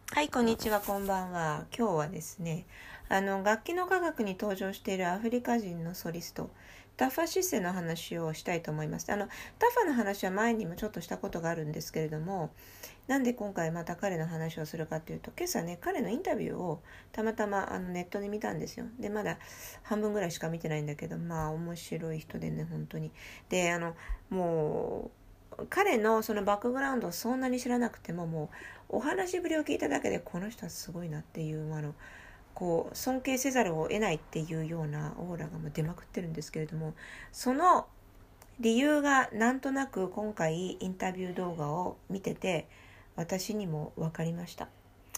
はい、こんにちは、こんばんは。今日はですね、楽器の科学に登場しているアフリカ人のソリスト、タファシセの話をしたいと思います。タファの話は前にもちょっとしたことがあるんですけれども、なんで今回また彼の話をするかというと、今朝ね、彼のインタビューをたまたまネットで見たんですよ。で、まだ半分ぐらいしか見てないんだけど、まあ面白い人でね、本当に。で、もう、彼のそのバックグラウンドをそんなに知らなくても、もうお話ぶりを聞いただけでこの人はすごいなっていうこう尊敬せざるを得ないっていうようなオーラがもう出まくってるんですけれども、その理由がなんとなく今回インタビュー動画を見てて私にも分かりました。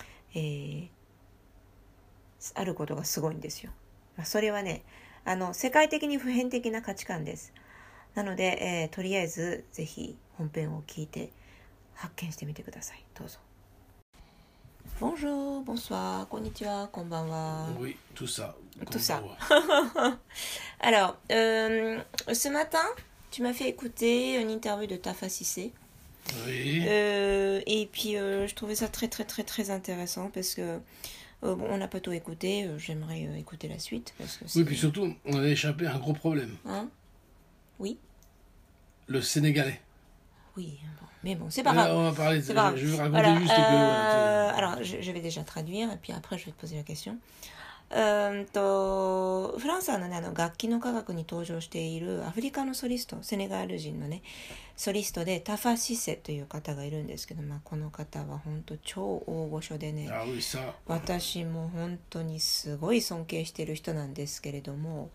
あることがすごいんですよ。それはね、世界的に普遍的な価値観です。なので、とりあえずぜひ本編を聞いて発見してみてください。どうぞ。Bonjour, bonsoir, konnichiwa, konbanwa. Oui, tout ça. Tout ça. Alors, ce matin, tu m'as fait écouter une interview de Tafa Cissé. Oui. Et puis, je trouvais ça très, très, très, très intéressant parce que, bon, on n'a pas tout écouté. J'aimerais écouter la suite. Parce que Oui, puis surtout, on a échappé à un gros problème. Hein? Oui. Le Sénégalais. Oui, bon. Mais bon, c'est pas grave. On va parler, je vais raconter voilà, juste que... alors, je vais déjà traduire, et puis après, je vais te poser la question. フランスのね、楽器の科学に登場しているアフリカのソリスト、セネガル人のね、ソリストでタファシセという方がいるんですけど、この方は本当超大御所でね、私も本当にすごい尊敬している人なんですけれども、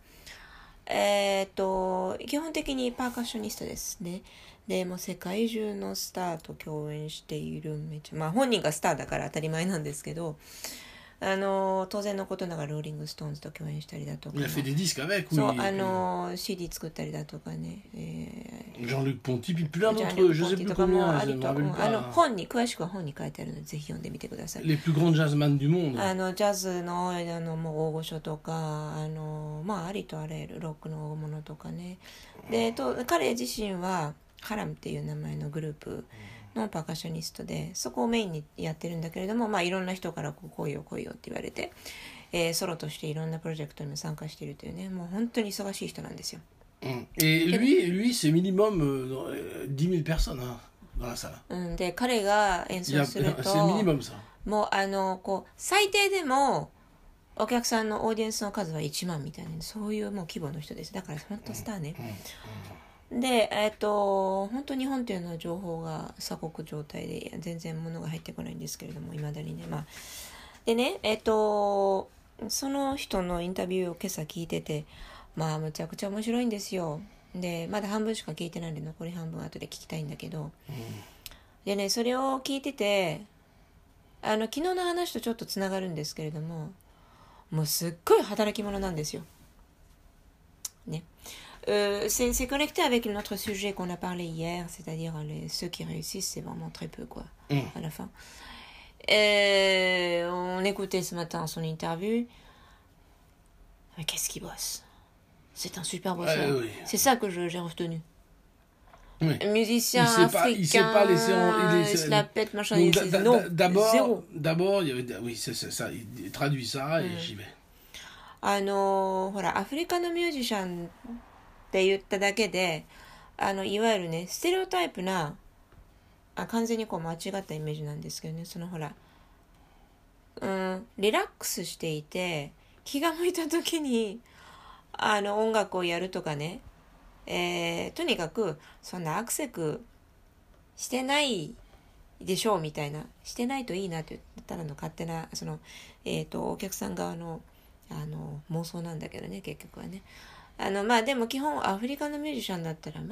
基本的にパーカッショニストですね。でもう世界中のスターと共演している本人がスターだから当たり前なんですけど、当然のことながらローリングストーンズと共演したりだとか、CD 作ったりだとかね、 Jean-Luc Ponty, puis plein d'autres, je sais plus combien, je ne me rappelle pas. 本に詳しくは本に書いてあるのでぜひ読んでみてください。 Les plus grands jazzman du monde. ジャズのもう大御所とかありとあらゆるロックの大物とかね。で彼自身はハラムっていう名前のグループのパーカッショニストで、そこをメインにやってるんだけれども、いろんな人から来いよって言われて、ソロとしていろんなプロジェクトにも参加しているというね、もう本当に忙しい人なんですよ。 Et lui, c'est minimum 10 000 personnes dans la salle. で彼が演奏すると c'est minimum ça. もう最低でもお客さんのオーディエンスの数は1万みたいな、そういうもう規模の人です。だから本当スターね。で、本当日本っていうのは情報が鎖国状態で全然物が入ってこないんですけれども、未だにね。でね、その人のインタビューを今朝聞いてて、むちゃくちゃ面白いんですよ。で、まだ半分しか聞いてないんで、残り半分後で聞きたいんだけど。でね、それを聞いてて、昨日の話とちょっとつながるんですけれども、もうすっごい働き者なんですよ。ね。c'est connecté avec notre sujet qu'on a parlé hier, c'est-à-dire ceux qui réussissent, c'est vraiment très peu, quoi, à la fin. On écoutait ce matin son interview. Mais qu'est-ce qu'il bosse? C'est un super bosseur. Oui. C'est ça que j'ai retenu. Oui. Musicien africain, il s'est pas laissé il se la pète, machin. Non, zéro. D'abord, il y avait, oui, c'est ça, il traduit ça et j'y vais. ほら、アフリカのミュージシャンって言っただけで、いわゆるね、ステレオタイプな、完全に間違ったイメージなんですけどね、ほら、リラックスしていて、気が向いた時に、音楽をやるとかね、とにかく、そんなアクセクしてないでしょうみたいな、してないといいなって言ったらの勝手な、お客さん側の、妄想なんだけどね、結局はね。でも基本アフリカのミュージシャンだったら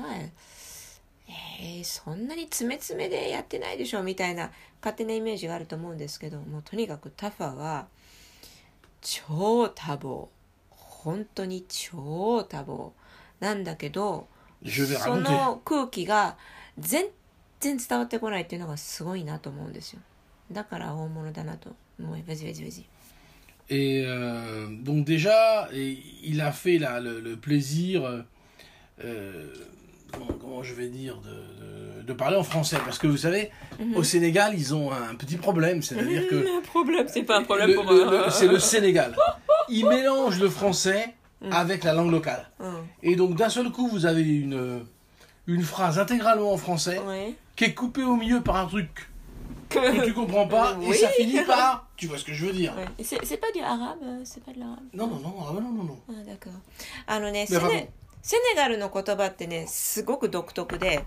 そんなに詰め詰めでやってないでしょみたいな勝手なイメージがあると思うんですけども、とにかくタファは超多忙、本当に超多忙なんだけど、その空気が全然伝わってこないっていうのがすごいなと思うんですよ。だから大物だなと思います。 Et donc déjà, il a fait le plaisir, comment je vais dire, de parler en français. Parce que vous savez, au Sénégal, ils ont un petit problème. C'est-à-dire que... Un problème, c'est pas un problème pour c'est le Sénégal. Ils mélangent le français avec la langue locale. Et donc, d'un seul coup, vous avez une phrase intégralement en français qui est coupée au milieu par un truc que tu comprends pas, et ça finit par... Tu vois ce que je veux dire? C'est pas du arabe, c'est pas de l'arabe. Non. Ah, d'accord. セネガルの言葉ってね、すごく独特で、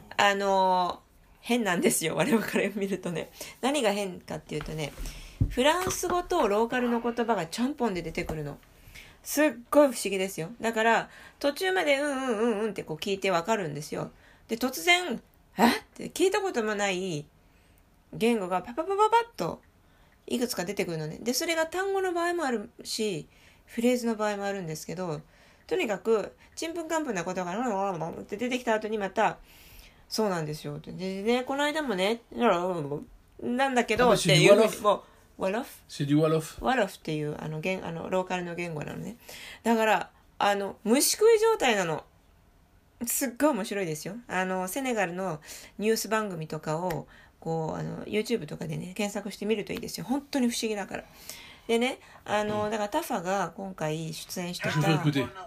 変なんですよ、我々から見るとね。何が変かっていうとね、フランス語とローカルの言葉がちゃんぽんで出てくるの。すっごい不思議ですよ。だから途中までうんってこう聞いてわかるんですよ。で突然って聞いたこともない言語がパッといくつか出てくるのね。でそれが単語の場合もあるしフレーズの場合もあるんですけど、とにかくちんぷんかんぷんなことがって出てきた後にまたそうなんですよ。でねこの間もねなんだけどっていうもうワロフ C'est du Wolof. ワロフっていうローカルの言語なのね。だから虫食い状態なの。すっごい面白いですよ。セネガルのニュース番組とかをこうYouTube とかでね検索してみるといいですよ。本当に不思議だから。でねだからタファが今回出演してた Je vous fais écouter.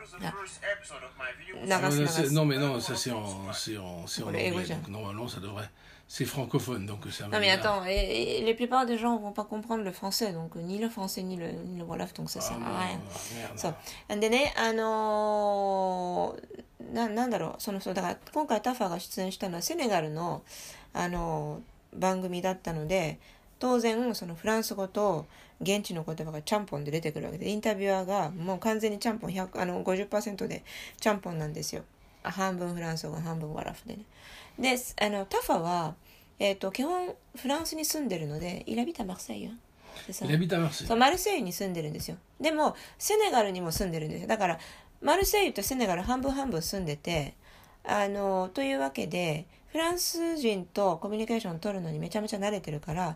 流す Non mais non, ça c'est en anglais. Donc normalement ça devrait... C'est francophone, donc c'est un Non mais attends, les plupart des gens vont pas comprendre le français, donc ni le français ni le wolof, donc ça sert à rien. そうでねなんだろうそうだから今回タファが出演したのはセネガルの番組だったので、当然そのフランス語と現地の言葉がちゃんぽんで出てくるわけで、インタビュアーがもう完全にちゃんぽん50% でちゃんぽんなんですよ。半分フランス語半分ワラフでね。でタファは、基本フランスに住んでるのでイラビタマルセイユそうマルセイユに住んでるんですよ。でもセネガルにも住んでるんですよ。だからマルセイユとセネガル半分住んでてというわけでフランス人とコミュニケーション取るのにめちゃめちゃ慣れてるから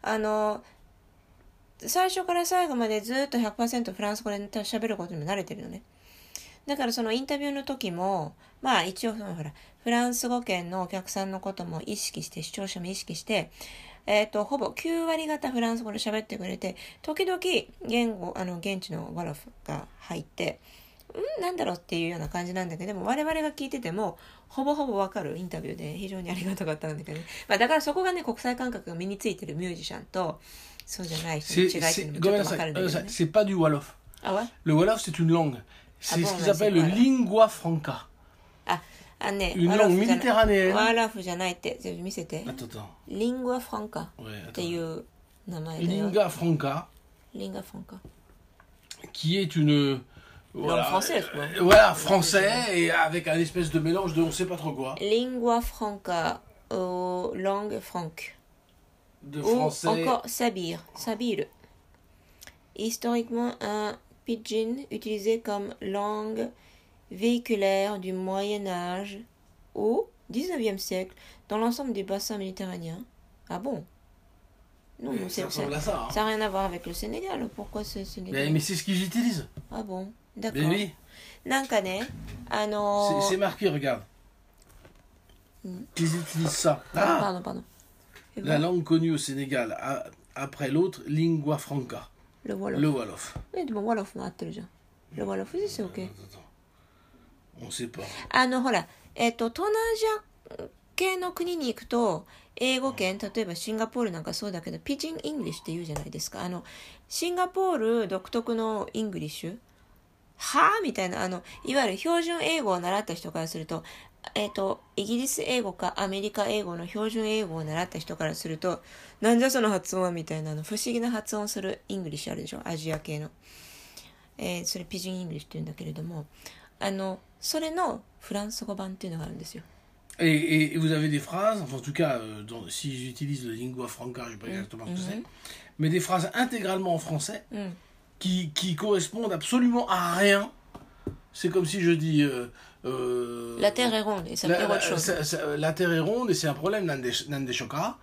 最初から最後までずっと 100% フランス語で喋ることにも慣れてるのね。だからそのインタビューの時もまあ一応ほらフランス語圏のお客さんのことも意識して視聴者も意識してほぼ9割方フランス語で喋ってくれて、時々現地のワロフが入ってなんだろうっていうような感じなんだけど、でも我々が聞いててもほぼわかるインタビューで非常にありがたかったんだけどね。まあだからそこがね国際感覚が身についてるミュージシャンとそうじゃない人の違いっていうのもちょっとわかるんだけどね。 C'est pas du Wolof. Ah ouais? Le Wolof c'est une langue. C'est ce qu'ils appellent le lingua franca. Une langue méditerranéenne. ワラフじゃないって見せて。 Attends. リングアフランカっていう名前だよ。 Lingua franca. Lingua franca. Qui est une langue française, quoi. Voilà, français et avec un espèce de mélange de on sait pas trop quoi. Lingua franca langue franque. De français. Ou encore sabir. Historiquement un pidgin utilisé comme langue véhiculaire du Moyen-Âge au 19e siècle dans l'ensemble du bassin méditerranéen. Ah bon? Non, ça ressemble à ça. Ça n'a rien à voir avec le Sénégal. Pourquoi ce Sénégal? Mais c'est ce qu'ils utilisent. Ah bon? D'accord. Mais oui. なんかね、 c'est marqué, regarde. Ils utilisent ça. Pardon. La langue connue au Sénégal, après l'autre, lingua franca. Le Wolof. Le Wolof. Mais le Wolof も合ってるじゃん。Le Wolof c'est OK. On sait pas. ほら、東南アジア系の国に行くと、英語圏、例えばシンガポールなんかそうだけど、ピジン・イングリッシュって言うじゃないですか。シンガポール独特のイングリッシュはぁみたいな、いわゆる標準英語を習った人からすると、イギリス英語かアメリカ英語の標準英語を習った人からすると、なんじゃその発音はみたいな不思議な発音するイングリッシュあるでしょ、アジア系の。それピジン・イングリッシュって言うんだけれども、それのフランス語版っていうのがあるんですよ。 Et vous avez des phrases, enfin en tout cas, si j'utilise le lingua franca, je ne sais pas exactement ce que c'est, mais des phrases intégralement en français qui correspondent absolument à rien. C'est comme si je dis... la Terre est ronde et ça veut dire autre chose. La Terre est ronde et c'est un problème, Nande Shoka.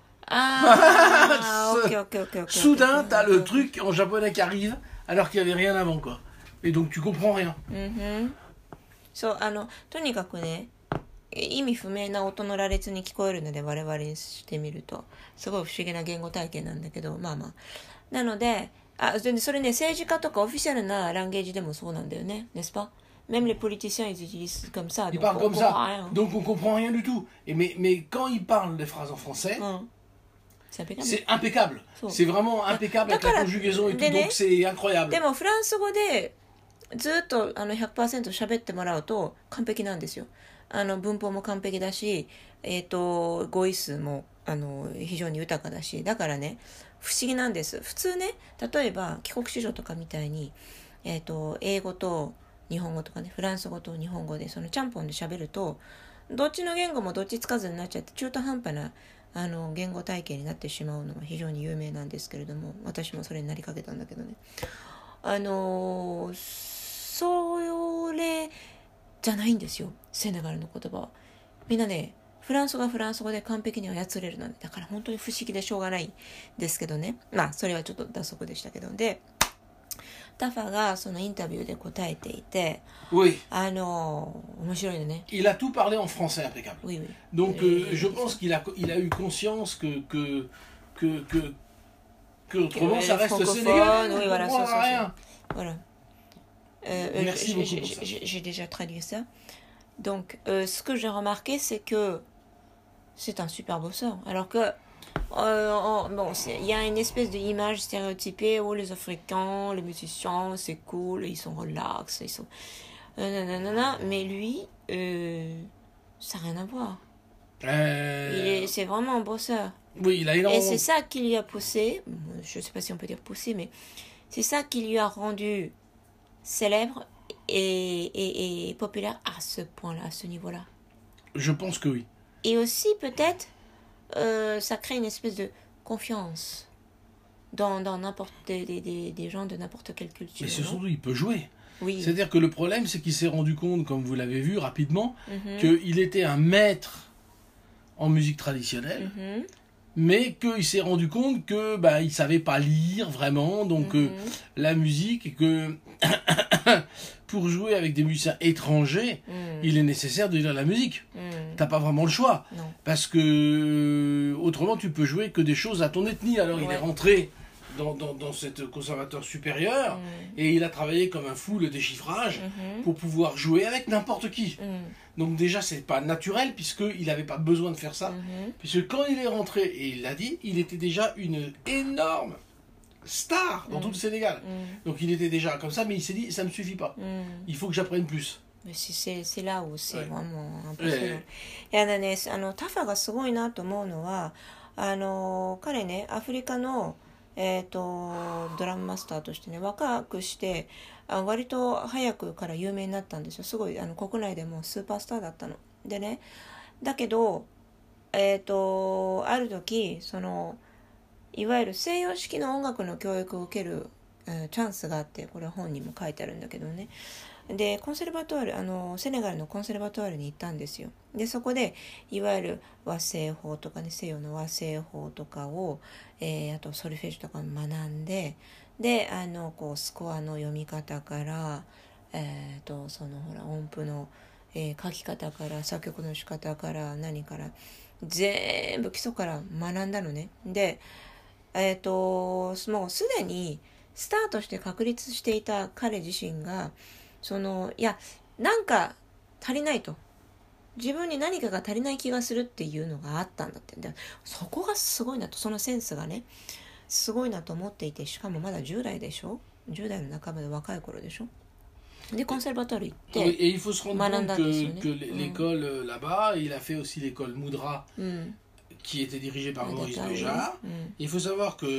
Ah, ok. Soudain, t'as le truc en japonais qui arrive alors qu'il n'y avait rien avant, quoi. Et donc tu comprends rien. そう、とにかくね、意味不明な音の羅列に聞こえるので、我々にしてみるとすごい不思議な言語体系なんだけど、まあまあ、なので、それね、政治家とかオフィシャルなランゲージでもそうなんだよね、n'est-ce pas? Même les politiciens, ils utilisent comme ça. Ils parlent comme ça, donc on comprend rien du tout. Mais quand ils parlent les phrases en français, c'est impeccable. C'est vraiment impeccable avec la conjugaison et tout, donc c'est incroyable. でもフランス語でずっと100% 喋ってもらうと完璧なんですよ。文法も完璧だし、語彙数も非常に豊かだし、だからね、不思議なんです。普通ね、例えば帰国子女とかみたいに、英語と日本語とかね、フランス語と日本語でそのちゃんぽんで喋ると、どっちの言語もどっちつかずになっちゃって中途半端な言語体系になってしまうのは非常に有名なんですけれども、私もそれになりかけたんだけどね、それじゃないんですよ、セネガルの言葉は。みんなね、フランス語はフランス語で完璧に操れるので、だから本当に不思議でしょうがないんですけどね。まあそれはちょっと脱足でしたけど、でタファがそのインタビューで答えていて、 oui. 面白いのね。 Il a tout parlé en français impeccable. Oui, oui. Donc je pense qu'il a eu conscience que autrement ça reste Sénégal. Oui, voilà, ça, rien. Voilà. Merci beaucoup pour ça. J'ai déjà traduit ça. Donc ce que j'ai remarqué, c'est que c'est un super bosseur. Alors que bon, il y a une espèce d'image stéréotypée où les Africains, les musiciens, c'est cool, ils sont relax, ils sont mais lui, ça n'a rien à voir. C'est vraiment un bosseur. Oui, il a énormément. Et c'est ça qui lui a poussé, je ne sais pas si on peut dire poussé, mais c'est ça qui lui a rendu célèbre et populaire à ce point-là, à ce niveau-là. Je pense que oui. Et aussi peut-être ça crée une espèce de confiance dans n'importe des gens de n'importe quelle culture. Mais surtout, il peut jouer. Oui. C'est-à-dire que le problème, c'est qu'il s'est rendu compte, comme vous l'avez vu rapidement, qu'il était un maître en musique traditionnelle, mais qu'il s'est rendu compte que il savait pas lire vraiment, donc la musique, et que pour jouer avec des musiciens étrangers, il est nécessaire de lire la musique. T'as pas vraiment le choix. Non. Parce que autrement tu peux jouer que des choses à ton ethnie. Alors il est rentré dans cette conservatoire supérieur et il a travaillé comme un fou le déchiffrage pour pouvoir jouer avec n'importe qui. Donc déjà c'est pas naturel puisqu'il n'avait pas besoin de faire ça. Puisque quand il est rentré, et il l'a dit, il était déjà une énorme star dans tout le Sénégal. Donc il était déjà comme ça, mais il s'est dit ça me suffit pas. Il faut que j'apprenne plus. Mais c'est là où c'est vraiment impressionnant. いやだね、タファがすごいなと思うのは、彼ね、アフリカのドラムマスターとしてね、若くして割と早くから有名になったんですよ。すごい国内でもスーパースターだったのでね。だけどある時いわゆる西洋式の音楽の教育を受ける、チャンスがあって、これは本にも書いてあるんだけどね。でコンセルバトワールセネガルのコンセルバトワールに行ったんですよ。でそこでいわゆる和声法とかね、西洋の和声法とかを、あとソルフェージュとかを学んで、でこうスコアの読み方から、そのほら音符の、書き方から作曲の仕方から何から全部基礎から学んだのね。でもうすでにスタートして確立していた彼自身がいやなんか足りないと、自分に何かが足りない気がするっていうのがあったんだって。でそこがすごいなと、そのセンスがねすごいなと思っていて、しかもまだ10代でしょ、10代の半ばで若い頃でしょ。でコンセルバトワール行って学んだんですよね。 Et il faut se rendre compte que l'école là-bas, il a fait aussi l'école Moudra, qui était dirigée par Maurice Béjart. Il faut savoir que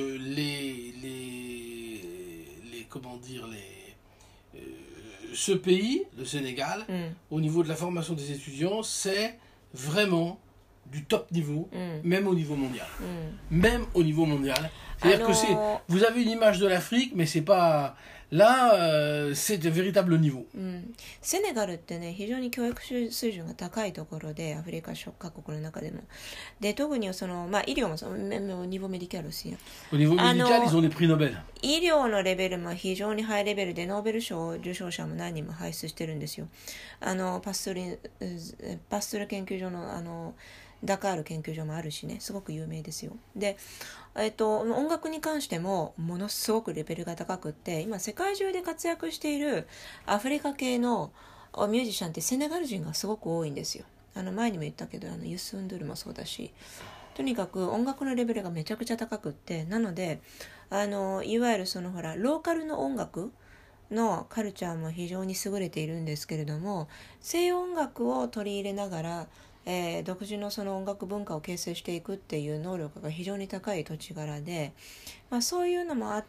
ce pays, le Sénégal, au niveau de la formation des étudiants, c'est vraiment du top niveau, même au niveau mondial. Même au niveau mondial. C'est-à-dire que vous avez une image de l'Afrique, mais c'est pas... Là, c'est un véritable niveau. セネガルってね、非常に教育水準が高いところで、アフリカ諸各国の中でも。で、特にその、医療もその、ニボメディカルaussi. Au niveau médical, ils ont des prix Nobel. 医療のレベルも非常にハイレベルで、ノーベル賞受賞者も何人も輩出してるんですよ。パストル研究所の、ダカール研究所もあるしね、すごく有名ですよ。で、音楽に関してもものすごくレベルが高くって、今世界中で活躍しているアフリカ系のミュージシャンってセネガル人がすごく多いんですよ。前にも言ったけどユス・ンドゥルもそうだし、とにかく音楽のレベルがめちゃくちゃ高くって、なのでいわゆるそのほらローカルの音楽のカルチャーも非常に優れているんですけれども、西洋音楽を取り入れながら独自のその音楽文化を形成していくっていう能力が非常に高い土地柄で、そういうのもあって、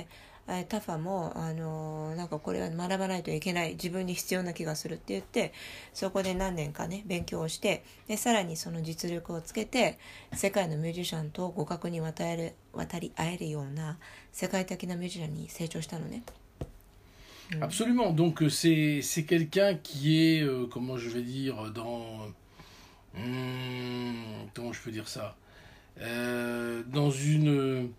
タファもなんかこれは学ばないといけない、自分に必要な気がするって言って、そこで何年かね勉強をして、でさらにその実力をつけて世界のミュージシャンと互角に渡り合えるような世界的なミュージシャンに成長したのね。 Absolument. Donc c'est quelqu'un qui est, comment je vais dire, comment je peux dire ça, dans une...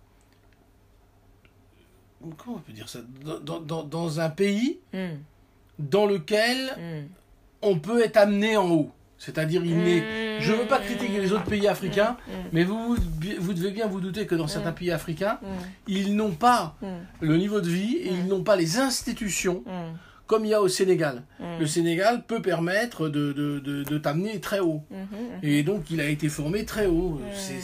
Comment on peut dire ça, dans un pays dans lequel on peut être amené en haut. C'est-à-dire, je ne veux pas critiquer les autres pays africains, mais vous devez bien vous douter que dans certains pays africains, ils n'ont pas le niveau de vie et ils n'ont pas les institutions comme il y a au Sénégal. Le Sénégal peut permettre de t'amener très haut. Et donc, il a été formé très haut.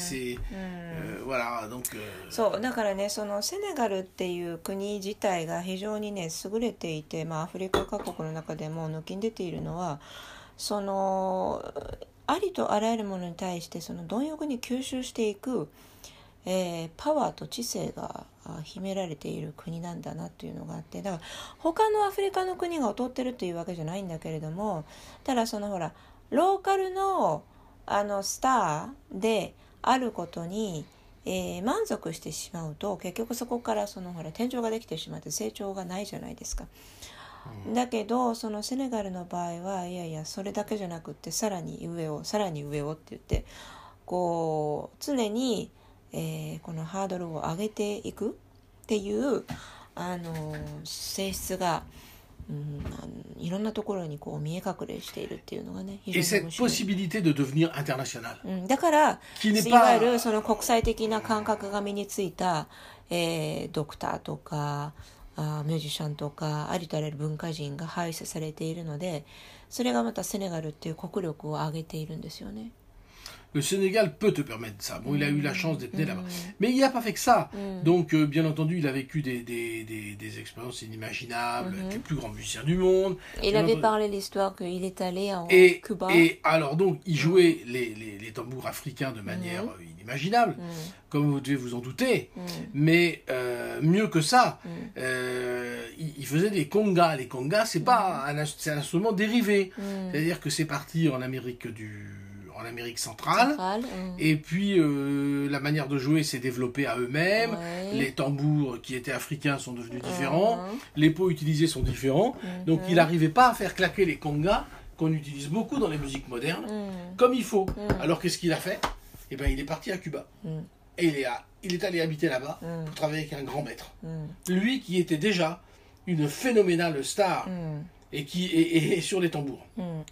Voilà, donc... そうだからね、そのセネガルっていう国自体が非常にね優れていて、アフリカ各国の中でも抜きん出ているのは、そのありとあらゆるものに対してその貪欲に吸収していく、パワーと知性が秘められている国なんだなというのがあって、だから他のアフリカの国が劣ってるというわけじゃないんだけれども、ただそのほらローカルのスターであることに、満足してしまうと、結局そこからそのほら天井ができてしまって成長がないじゃないですか。だけどそのセネガルの場合はいやいやそれだけじゃなくってさらに上をって言って、こう常に、このハードルを上げていくっていう性質が、いろんなところにこう見え隠れしているっていうのがね、非常に面白い。 Et cette possibilité de devenir international. だからいわゆるその国際的な感覚が身についた、ドクターとかミュージシャンとかありとあらゆる文化人が輩出されているので、それがまたセネガルっていう国力を上げているんですよね。 Le Sénégal peut te permettre ça. Bon, il a eu la chance d'être né là-bas. Mais il n'a pas fait que ça. Donc, bien entendu, il a vécu des expériences inimaginables avec les plus grands musiciens du monde. Il avait parlé l'histoire qu'il est allé en Cuba. Et alors, donc, il jouait les tambours africains de manière inimaginable, comme vous devez vous en douter. Mais mieux que ça, il faisait des congas. Les congas, c'est un instrument dérivé. C'est-à-dire que c'est parti en Amérique centrale. Et puis la manière de jouer s'est développée à eux-mêmes. Les tambours qui étaient africains sont devenus différents. Les pots utilisés sont différents. Donc il n'arrivait pas à faire claquer les congas qu'on utilise beaucoup dans les musiques modernes comme il faut. Alors qu'est-ce qu'il a fait? Eh ben, il est parti à Cuba. Et il est allé habiter là-bas pour travailler avec un grand maître. Lui qui était déjà une phénoménale star et qui est sur les tambours.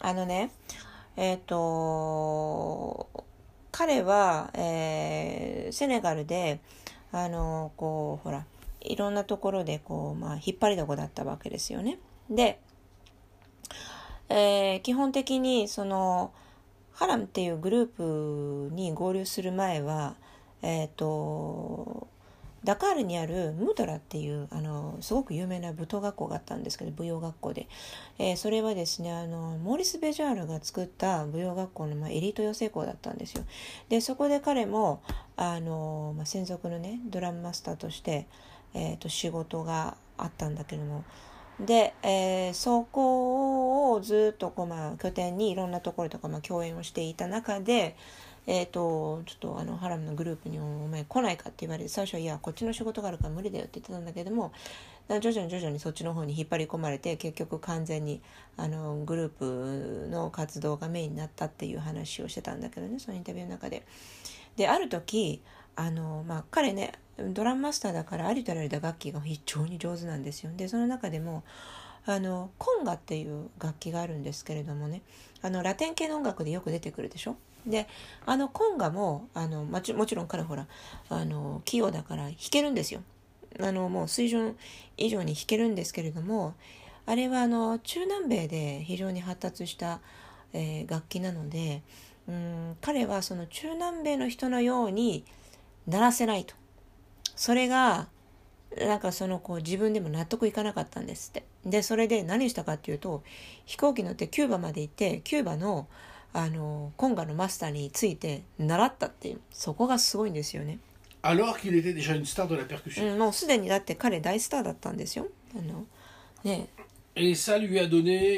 彼は、セネガルでこうほらいろんなところでこう、引っ張りだこだったわけですよね。で、基本的にそのハラムっていうグループに合流する前は、ダカールにあるムードラっていうすごく有名な舞踏学校があったんですけど、舞踊学校で、それはですねモーリス・ベジャールが作った舞踊学校の、エリート養成校だったんですよ。でそこで彼も専属のねドラムマスターとして、仕事があったんだけども、で、そこをずっと拠点にいろんなところとか、共演をしていた中で、 ちょっとハラムのグループにお前来ないかって言われて、最初はいやこっちの仕事があるから無理だよって言ってたんだけども、徐々にそっちの方に引っ張り込まれて、結局完全にグループの活動がメインになったっていう話をしてたんだけどね、そのインタビューの中で。である時彼ねドラムマスターだからありとあらゆる打楽器が非常に上手なんですよ。でその中でもコンガっていう楽器があるんですけれどもね、ラテン系の音楽でよく出てくるでしょ。でコンガももちろん彼ほら器用だから弾けるんですよ。もう水準以上に弾けるんですけれども、あれは中南米で非常に発達した、楽器なので、彼はその中南米の人のように鳴らせないと。それがなんか自分でも納得いかなかったんですって。でそれで何したかっていうと、飛行機乗ってキューバまで行って、キューバのコンガのマスターについて習ったっていう、そこがすごいんですよね。 Alors qu'il était déjà une star de la percussion. もうすでにだって彼大スターだったんですよ。ね。 Et ça lui a donné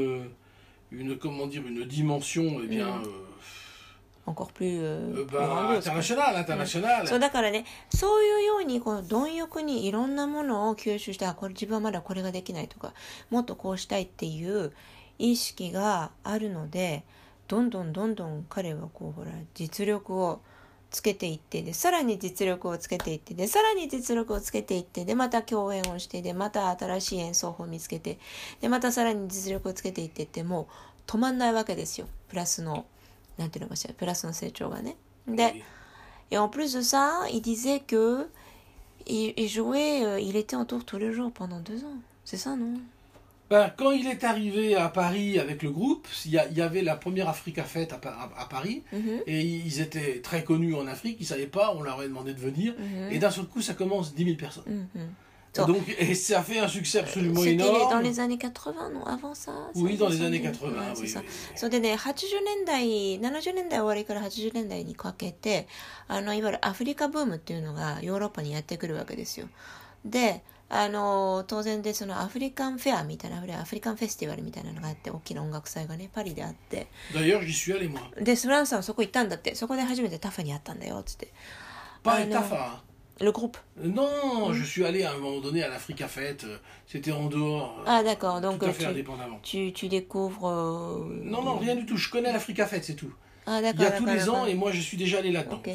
comment dire, une dimension, eh bien, encore plus international. そうだからね、そういうように貪欲にいろんなものを吸収して、これ自分はまだこれができないとか、もっとこうしたいっていう意識があるので、どんどん彼は実力をつけていって、でさらに実力をつけていって、でさらに実力をつけていって、でまた共演をして、でまた新しい演奏法を見つけて、でまたさらに実力をつけていってって、もう止まんないわけですよ。プラスのなんていうのかしら、プラスの成長がね。で、et en plus de ça, il disait que il jouait, il était en tour tous les jours pendant 2 ans. C'est ça, non? Quand il est arrivé à Paris avec le groupe, il y avait la première Africa Fête à Paris, et ils étaient très connus en Afrique, ils ne savaient pas, on leur avait demandé de venir, et d'un seul coup ça commence 10 000 personnes. Donc, et ça fait un succès absolument énorme. C'était dans les années 80, non? Avant ça? Oui, dans les années 80, oui. それでね、80年代、70年代終わりから80年代にかけて、いわゆるアフリカブームっていうのがヨーロッパにやってくるわけですよ。で、当然でそのアフリカンフェアみたいな、アフリカンフェスティバルみたいなのがあって、大きな音楽祭がね、パリであって。 D'ailleurs, j'y suis allé, moi. で、フランスさんそこ行ったんだって。そこで初めてタファに会ったんだよ、つって。 Pas Tafa.Le groupe. Non, je suis allé à un moment donné à l'Africa Fête. C'était en dehors. Ah d'accord, donc tout à fait indépendamment. Tu découvres. Non, rien du tout. Je connais l'Africa Fête, c'est tout. Ah d'accord. Il y a tous les ans et moi je suis déjà allé là-dedans. Okay.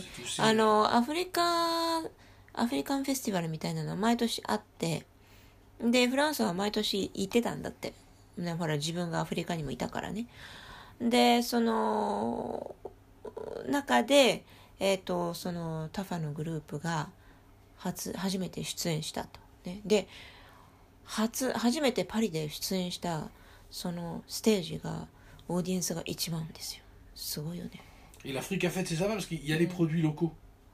アフリカンフェスティバルみたいなのは毎年あって、でフランスは毎年行ってたんだって。ね、ほら自分がアフリカにもいたからね。でその中でそのタファのグループが初めて出演したと、ね、で初めてパリで出演したそのステージがオーディエンスが1万ですよ。すごいよね。 Et l'Africa Fête, c'est ça parce qu'il y a les produits locaux.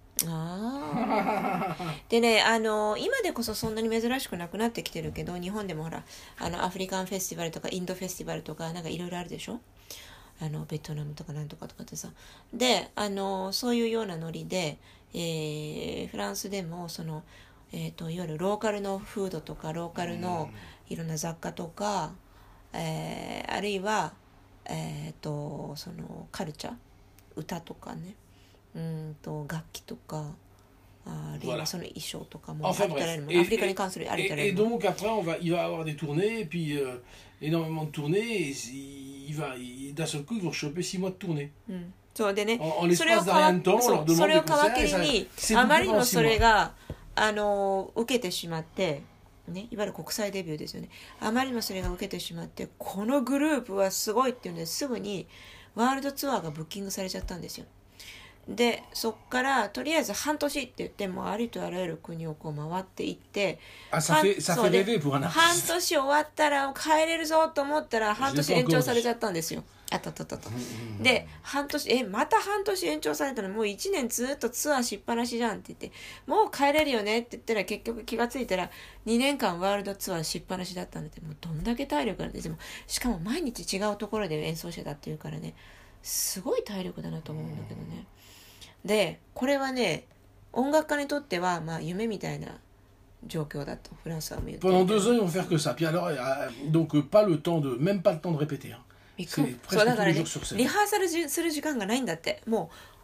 でね、今でこそそんなに珍しくなくなってきてるけど、日本でもほらアフリカンフェスティバルとかインドフェスティバルとかなんかいろいろあるでしょ。ベトナムとかなんとかってさ、でそういうようなノリで、フランスでもその、いわゆるローカルのフードとかローカルのいろんな雑貨とか、あるいは、そのカルチャー、歌とかね、楽器とか、あるいはその衣装とかも、 enfin, アフリカに関するありとあらゆる。 Et donc après il va y avoir des tournées, et puis énormément de tournées, et d'un seul coup ils vont choper 6 mois de tournée. そうでね、 それを皮切りにあまりにもそれが受けてしまって、ね、いわゆる国際デビューですよね。あまりにもそれが受けてしまって、このグループはすごいっていうんですぐにワールドツアーがブッキングされちゃったんですよ。でそっからとりあえず半年って言ってもありとあらゆる国をこう回っていって、半年終わったら帰れるぞと思ったら半年延長されちゃったんですよ。で半年また半年延長されたの、もう1年ずっとツアーしっぱなしじゃんって言って、もう帰れるよねって言ったら結局気がついたら2年間ワールドツアーしっぱなしだったんで、もうどんだけ体力なんですよ。しかも毎日違うところで演奏してたっていうからね、すごい体力だなと思うんだけどね。でこれはね、音楽家にとってはまあ夢みたいな状況だとフランスは見る。 Pendant 2 ans ils vont faire que ça. Puis alors donc pas le temps de même pas le temps de répéter. そうだからね、リハーサルする時間がないんだって。もう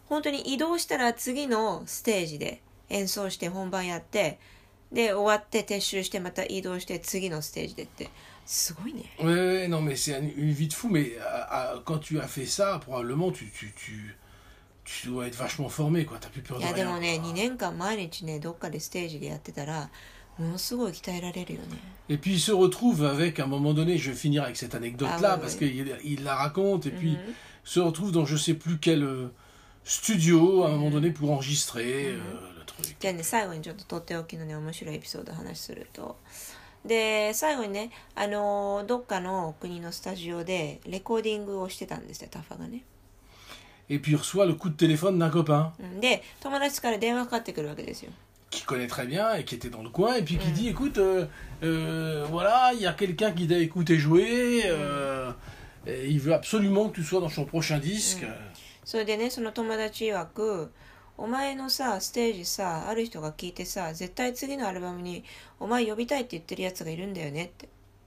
本当に移動したら次のステージで演奏して本番やって、で終わって撤収してまた移動して次のステージでって、すごいね。 Ouais, non, mais c'est une vie de fou. Mais quand tu as fait ça, probablement, tu dois être vachement formé, quoi. T'as plus peur de いや rien. でもね、2年間毎日ね、どっかでステージでやってたら、ものすごい鍛えられるよね。 Et puis il se retrouve avec, à un moment donné, je vais finir avec cette anecdote-là, parce qu'il la raconte, et puis se retrouve dans je sais plus quel studio, à un moment donné, pour enregistrer le truc. じゃあね、最後にちょっととっておきのね、面白いエピソードを話すると。で、最後にね、どっかの国のスタジオでレコーディングをしてたんですよ、タファがね。 Et puis il reçoit le coup de téléphone d'un copain. で、友達から電話かかってくるわけですよ。 Qui connaît très bien et qui était dans le coin, et puis qui dit, écoute, voilà, il y a quelqu'un qui t'a écouté jouer, et il veut absolument que tu sois dans son prochain disque. それでね、その友達曰く、お前のさ、ステージさ、ある人が聞いてさ、絶対次のアルバムにお前呼びたいって言ってるやつがいるんだよねって。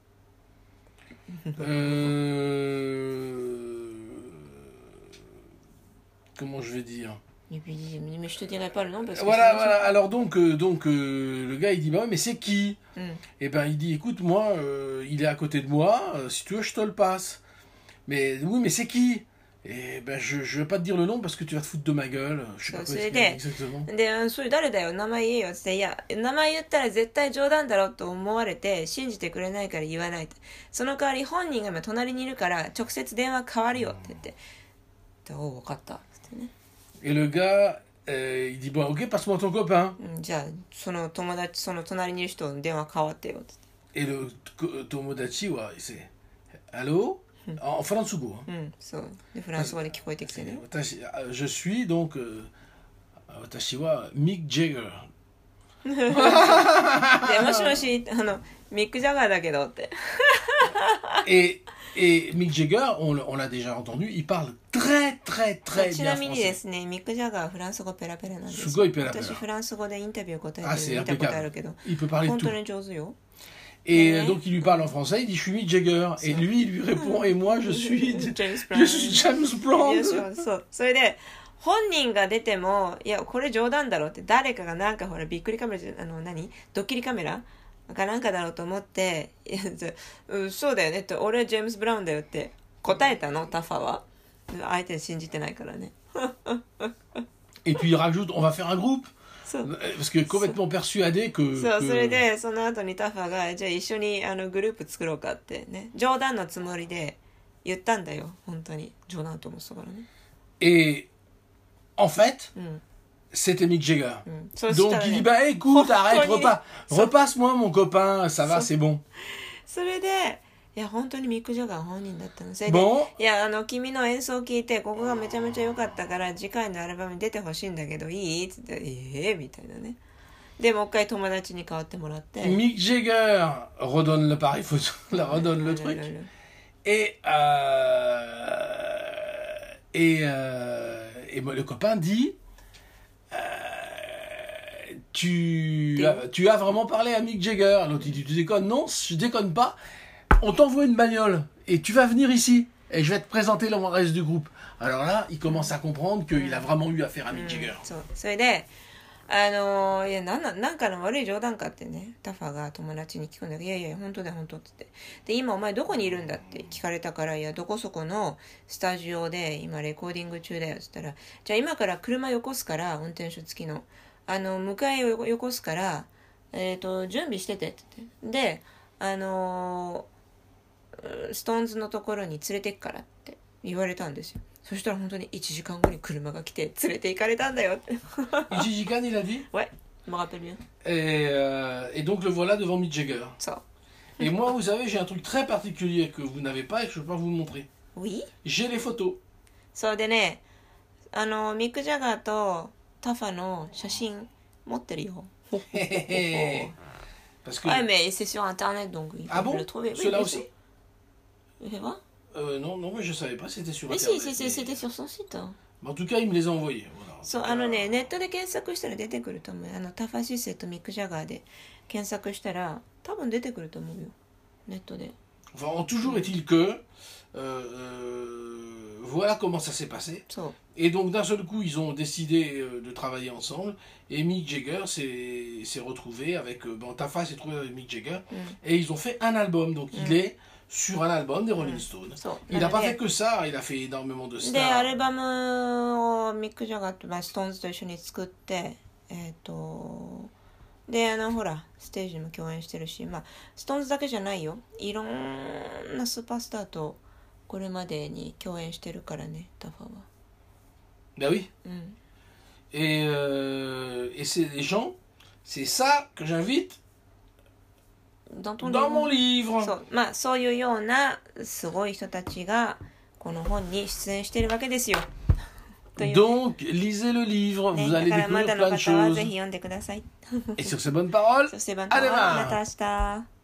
Comment je vais dire? Mais je te dirai pas le nom parce que voilà, voilà. Alors donc le gars il dit bah mais c'est qui? Et ben il dit écoute moi il est à côté de moi, si tu veux je te le passe. Mais oui mais c'est qui? Et ben je vais pas te dire le nom parce que tu vas te foutre de ma gueule. Je sais pas quoi expliquer exactement. で、それ誰だよ名前言えよって言って、いや名前言ったら絶対冗談だろと思われて信じてくれないから言わないって。その代わり本人が今隣にいるから直接電話変わるよって言って。おう分かったってね。 Et le gars, il dit bon, ok, passe-moi ton copain. じゃあその友達その隣にいる人の電話変わってよって。 Et le tomodachi, ouais, c'est allô? En fransugo. そうでフランス語で聞こえてきてね。 Je suis donc watashi wa Mick Jagger. でもしもしミック・ジャガーだけどって。 Et Mick Jagger, on l'a déjà entendu, il parle très très très bien français. ちなみにですね、ミック・ジャガーはフランス語ペラペラなんですよ。 すごいペラペラ。 私フランス語でインタビュー答えてる見たことあるけど、 il peut parler de tout. 本当に上手よ。 Et donc il lui parle en français, il dit je suis Mick Jagger. Et lui, il lui répond et moi je suis James Brown. そう。それで本人が出てもいやこれ冗談だろって誰かがなんかほらびっくりカメラドッキリカメラかなんかだろうと思っていやそうだよねって俺はジェームス・ブラウンだよって答えたのタファは相手信じてないからね。 Et puis il rajoute on va faire un groupe. Parce que complètement persuadé que それでその後にタファがじゃあ一緒にグループ作ろうかってね冗談のつもりで言ったんだよ本当に冗談と思ってたからね。 Et en fait c'était Mick Jagger. Donc il dit bah écoute arrête repasse-moi mon copain ça va c'est bon. それでいや本当にミック・ジャガー本人だったの。それでいや君の演奏を聞いてここがめちゃめちゃ良かったから次回のアルバムに出てほしいんだけどいいって言ってみたいなね。でもう一回友達に代わってもらって。 Mick Jagger redonne le pareil photo, redonne le truc et le copain dit tu as vraiment parlé à Mick Jagger? L'autre il dit tu déconnes? Non je déconne pas. On t'envoie une bagnole et tu vas venir ici et je vais te présenter le reste du groupe. Alors là, il commence à comprendre qu'il a vraiment eu affaire à Mick Jagger. それでいやなんかの悪い冗談かってねタファが友達に聞くんだけどいやいや本当だよ本当って言ってで今お前どこにいるんだって聞かれたからいやどこそこのスタジオで今レコーディング中だよって言ったらじゃあ今から車よこすから運転手付きの迎えをよこすから準備しててって言ってでストーンズのところに連れてくからって言われたんですよ。そしたら本当に1時間後に車が来て連れて行かれたんだよって。 1時間il a dit? Ouais, je me rappelle bien. Et donc le voilà devant Mick Jagger. Ça. Et moi vous savez j'ai un truc très particulier que vous n'avez pas et que je peux pas vous montrer. Oui. J'ai les photos. そうでねミック・ジャガーとタファの写真持ってるよ。 Parce que... Ouais mais c'est sur internet donc il faut le trouver. Ceux-là aussi? Non, mais je savais pas, c'était sur Internet. Mais si, c'était sur son site. En tout cas, il me les a envoyés. Voilà. そうネットで検索したら出てくると思う。タファシセとミック・ジャガーで検索したら多分出てくると思うよ。ネットで。 Enfin, toujours est-il que voilà comment ça s'est passé. Et donc d'un seul coup, ils ont décidé de travailler ensemble. Et Mick Jagger s'est retrouvé avec... Tafa s'est trouvé avec Mick Jagger. Et ils ont fait un album. Donc il est sur un album des Rolling Stones. Il n'a pas fait que ça, il a fait énormément de stars. で、アルバムをミック・ジャガーと、ストーンズと一緒に作って、で、ほら、ステージでも共演してるし、ストーンズだけじゃないよ。いろんなスーパースターとこれまでに共演してるからね、タファは。 Ben oui. Et c'est des gens, c'est ça que j'invite dans mon livre. そういうようなすごい人たちがこの本に出演してるわけですよ。 Donc, lisez le livre, vous allez découvrir plein de choses. Et sur ces bonnes paroles, à demain.